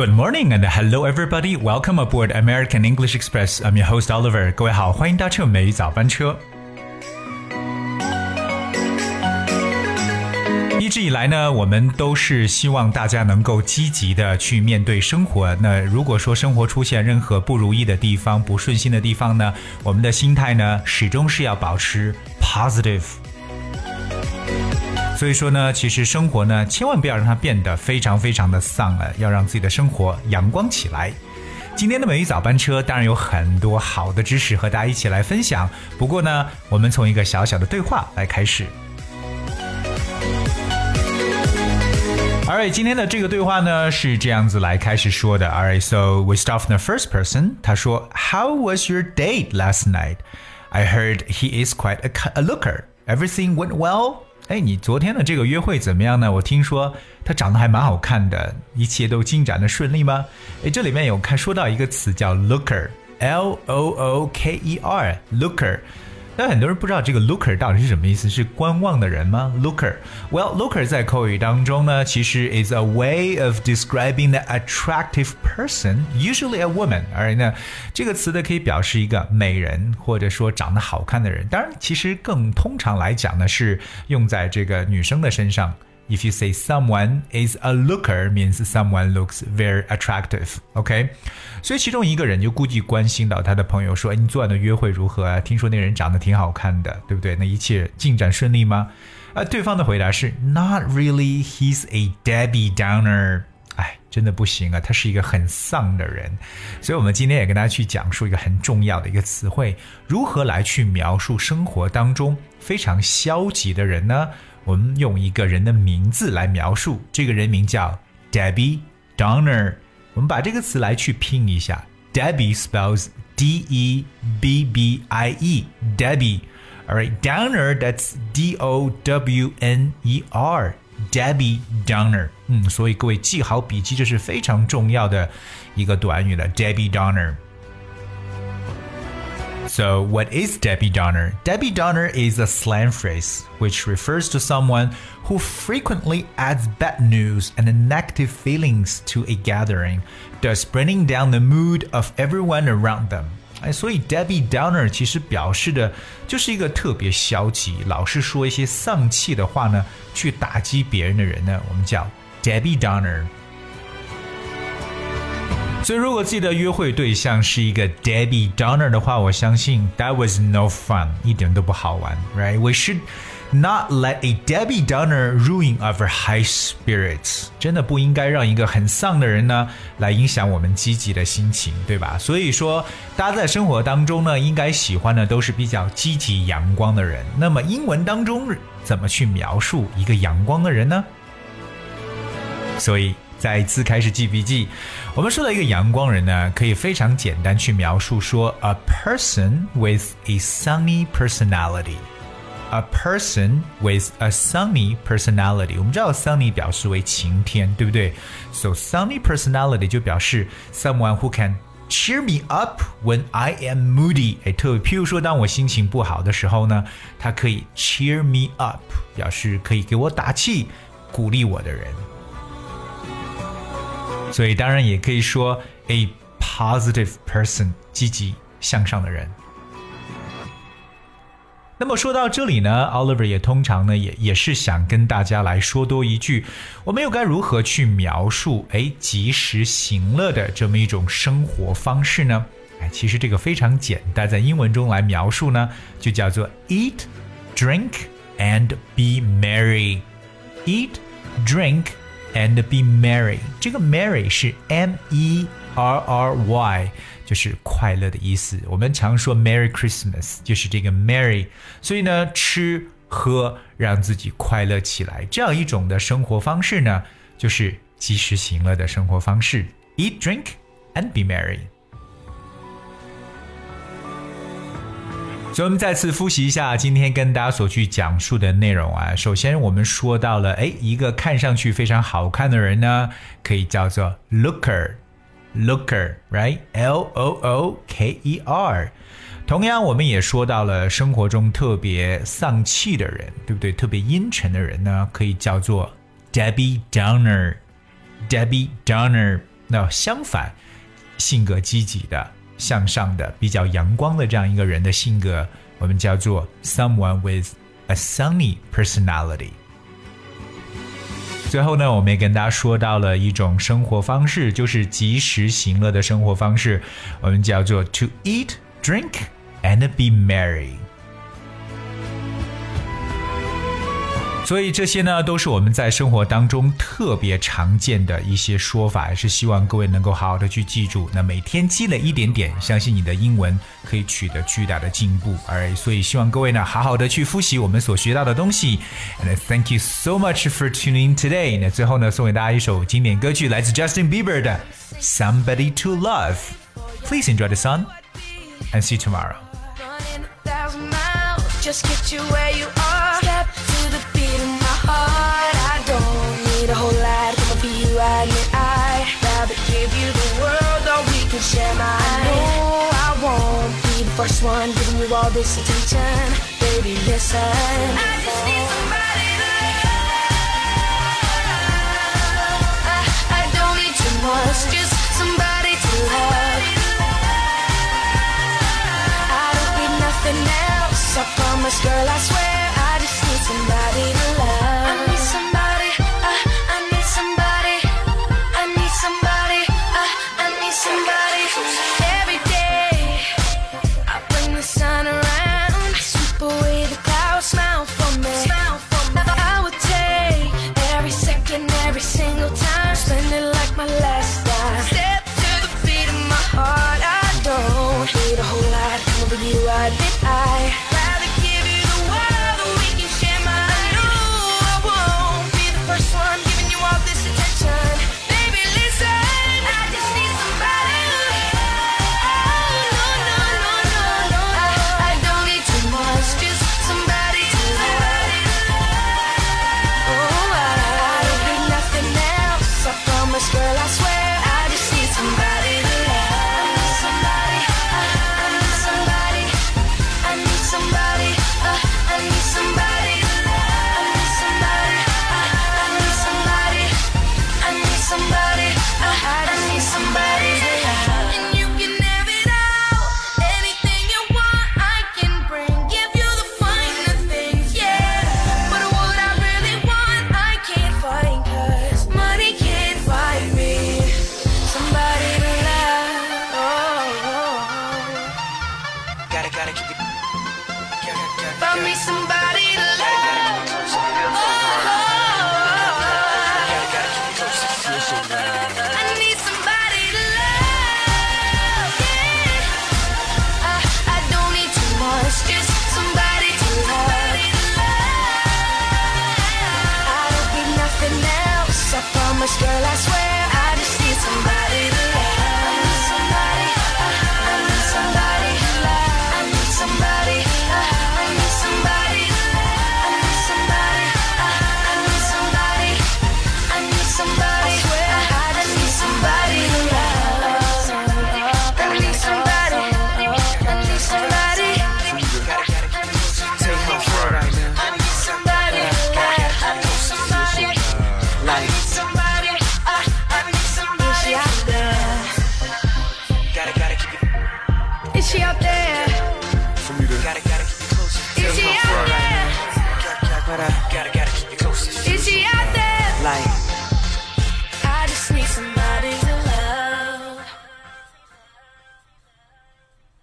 Good morning and hello everybody. Welcome aboard American English Express. I'm your host Oliver. 各位好，欢迎搭乘美语早班车。一直以来呢，我们都是希望大家能够积极的去面对生活。那如果说生活出现任何不如意的地方、不顺心的地方呢，我们的心态呢，始终是要保持 positive。所以说呢，其实生活呢，千万不要让它变得非常非常的丧了，要让自己的生活阳光起来。今天的美语早班车当然有很多好的知识和大家一起来分享，不过呢，我们从一个小小的对话来开始。Alright, 今天的这个对话呢是这样子来开始说的。Alright, so we start from the first person. 他说 How was your date last night? I heard he is quite a looker. Everything went well?哎，你昨天的这个约会怎么样呢？我听说他长得还蛮好看的，一切都进展的顺利吗？哎，这里面有说到一个词叫 looker, L-O-O-K-E-R, looker。但很多人不知道这个 looker 到底是什么意思，是观望的人吗 ？Looker, well, looker 在口语当中呢，其实 is a way of describing the attractive person, usually a woman. 而呢，这个词呢可以表示一个美人，或者说长得好看的人。当然，其实更通常来讲呢，是用在这个女生的身上。If you say someone is a looker, means someone looks very attractive. OK? 所以其中一个人就估计关心到他的朋友说，哎，你昨晚的约会如何啊？听说那个人长得挺好看的，对不对？那一切进展顺利吗？对方的回答是 Not really, he's a Debbie Downer. 哎，真的不行啊，他是一个很丧的人。所以我们今天也跟大家去讲述一个很重要的一个词汇，如何来去描述生活当中非常消极的人呢？我们用一个人的名字来描述，这个人名叫 Debbie Downer。我们把这个词来去拼一下 Debbie spells D-E-B-B-I-E Debbie. Alright, Downer, that's D-O-W-N-E-R Debbie Downer. 所以各位记好笔记，这是非常重要的一个短语了 Debbie Downer.So what is Debbie Downer? Debbie Downer is a slang phrase which refers to someone who frequently adds bad news and negative feelings to a gathering, thus bringing down the mood of everyone around them. 所以 Debbie Downer 其实表示的就是一个特别消极，老是说一些丧气的话呢，去打击别人的人呢，我们叫 Debbie Downer。所以如果自己的约会对象是一个 Debbie Downer 的话，我相信 that was no fun, 一点都不好玩 right? We should not let a Debbie Downer ruin our high spirits. 真的不应该让一个很丧的人呢来影响我们积极的心情，对吧？所以说大家在生活当中呢应该喜欢的都是比较积极阳光的人。那么英文当中怎么去描述一个阳光的人呢？所以再一次开始记笔记，我们说到一个阳光人呢，可以非常简单去描述说 a person with a sunny personality. A person with a sunny personality. 我们知道 sunny 表示为晴天，对不对？ So sunny personality 就表示 someone who can cheer me up when I am moody. 譬如说当我心情不好的时候呢，他可以 cheer me up， 表示可以给我打气，鼓励我的人。所以当然也可以说 a positive person, 积极向上的人。那么说到这里呢 Oliver 也通常呢也是想跟大家来说多一句，我们又该如何去描述及时行乐的这么一种生活方式呢？其实这个非常简单，在英文中来描述呢就叫做 eat, drink and be merry. Eat, drink and be merry. 这个 merry 是 M-E-R-R-Y， 就是快乐的意思。我们常说 Merry Christmas， 就是这个 merry。所以呢，吃喝让自己快乐起来，这样一种的生活方式呢，就是及时行乐的生活方式。Eat, drink and be merry。所以我们再次复习一下今天跟大家所去讲述的内容啊。首先我们说到了一个看上去非常好看的人呢，可以叫做 looker, right? L-O-O-K-E-R。 同样我们也说到了生活中特别丧气的人，对不对？特别阴沉的人呢，可以叫做 Debbie Downer. 那相反，性格积极的、向上的、比较阳光的这样一个人的性格，我们叫做 someone with a sunny personality。最后呢，我们也跟大家说到了一种生活方式，就是及时行乐的生活方式，我们叫做 to eat, drink and be merry。所以这些呢，都是我们在生活当中特别常见的一些说法，也是希望各位能够好好的去记住。那每天积累一点点，相信你的英文可以取得巨大的进步。所以希望各位呢，好好的去复习我们所学到的东西。And thank you so much for tuning in today。那最后呢，送给大家一首经典歌曲，来自 Justin Bieber 的 Somebody to Love。Please enjoy the song and see you tomorrow. Just get you where you are. Step to the beat of my heart. I don't need a whole lot. Come for you, I admit I'd rather give you the world, or we can share mine. I know I won't be the first one giving you all this attention. Baby, listen. I just need somebody to love. I don't need too much, just somebody to love. I don't need nothing else. I promise, girl, I swear, I just need somebody to love. I need somebody, I need somebody, I need somebody, I need somebody. Every day, I bring the sun around, sweep away the clouds, smile for me. I would take every second, every single time, spend it like my last time. Step to the beat of my heart, I don't need a whole lot. Come over you, I admit I girl, I swear